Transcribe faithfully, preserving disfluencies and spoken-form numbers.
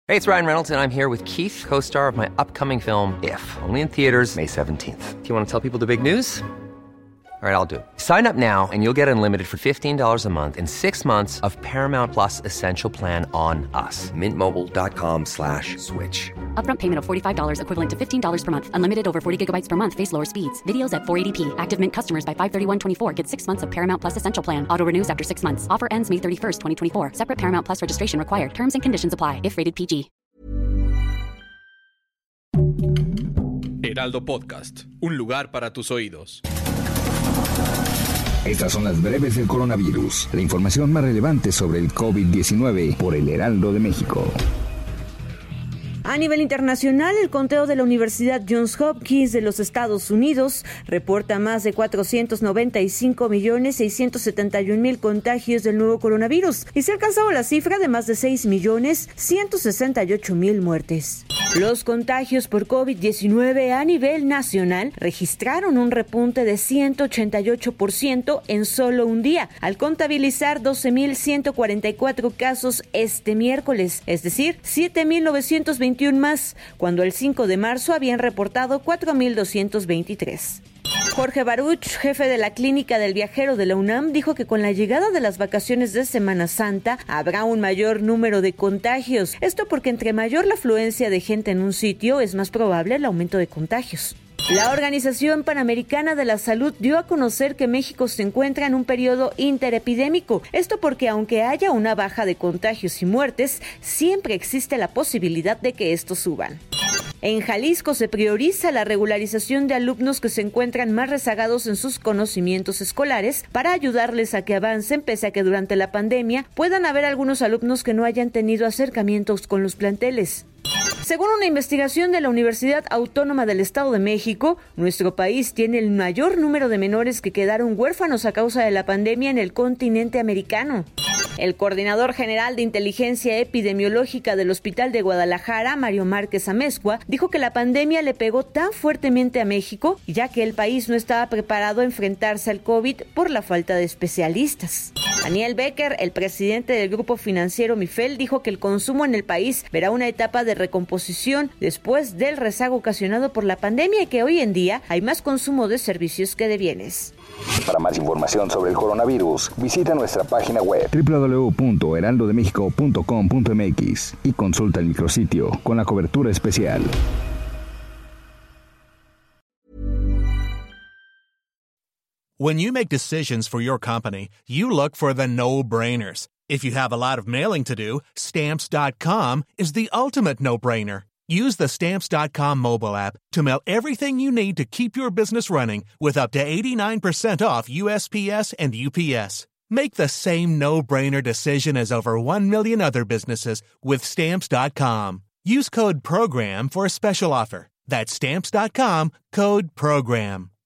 Hey, it's Ryan Reynolds, and I'm here with Keith, co-star of my upcoming film, If, only in theaters May seventeenth. Do you want to tell people the big news? All right, I'll do it. Sign up now and you'll get unlimited for fifteen dollars a month and six months of Paramount Plus Essential Plan on us. Mint Mobile dot com slash switch. Upfront payment of forty-five dollars equivalent to fifteen dollars per month. Unlimited over forty gigabytes per month. Face lower speeds. Videos at four eighty p. Active Mint customers by five thirty-one twenty-four get six months of Paramount Plus Essential Plan. Auto renews after six months. Offer ends May thirty-first, twenty twenty-four. Separate Paramount Plus registration required. Terms and conditions apply if rated P G. Heraldo Podcast. Un lugar para tus oídos. Estas son las breves del coronavirus, la información más relevante sobre el COVID diecinueve por el Heraldo de México. A nivel internacional, el conteo de la Universidad Johns Hopkins de los Estados Unidos reporta más de cuatrocientos noventa y cinco millones seiscientos setenta y un mil contagios del nuevo coronavirus y se ha alcanzado la cifra de más de seis millones ciento sesenta y ocho mil muertes. Los contagios por COVID diecinueve a nivel nacional registraron un repunte de ciento ochenta y ocho por ciento en solo un día, al contabilizar doce mil ciento cuarenta y cuatro casos este miércoles, es decir, siete mil novecientos veintiuno más, cuando el cinco de marzo habían reportado cuatro mil doscientos veintitrés. Jorge Baruch, jefe de la Clínica del Viajero de la UNAM, dijo que con la llegada de las vacaciones de Semana Santa habrá un mayor número de contagios. Esto porque entre mayor la afluencia de gente en un sitio, es más probable el aumento de contagios. La Organización Panamericana de la Salud dio a conocer que México se encuentra en un periodo interepidémico. Esto porque aunque haya una baja de contagios y muertes, siempre existe la posibilidad de que estos suban. En Jalisco se prioriza la regularización de alumnos que se encuentran más rezagados en sus conocimientos escolares para ayudarles a que avancen, pese a que durante la pandemia puedan haber algunos alumnos que no hayan tenido acercamientos con los planteles. Según una investigación de la Universidad Autónoma del Estado de México, nuestro país tiene el mayor número de menores que quedaron huérfanos a causa de la pandemia en el continente americano. El coordinador general de inteligencia epidemiológica del Hospital de Guadalajara, Mario Márquez Amezcua, dijo que la pandemia le pegó tan fuertemente a México, ya que el país no estaba preparado a enfrentarse al COVID por la falta de especialistas. Daniel Becker, el presidente del grupo financiero Mifel, dijo que el consumo en el país verá una etapa de recomposición después del rezago ocasionado por la pandemia y que hoy en día hay más consumo de servicios que de bienes. Para más información sobre el coronavirus, visita nuestra página web doble u doble u doble u punto heraldo de méxico punto com punto m x y consulta el micrositio con la cobertura especial. When you make decisions for your company, you look for the no-brainers. If you have a lot of mailing to do, Stamps dot com is the ultimate no-brainer. Use the Stamps dot com mobile app to mail everything you need to keep your business running with up to eighty-nine percent off U S P S and U P S. Make the same no-brainer decision as over one million other businesses with Stamps dot com. Use code PROGRAM for a special offer. That's Stamps dot com, code PROGRAM.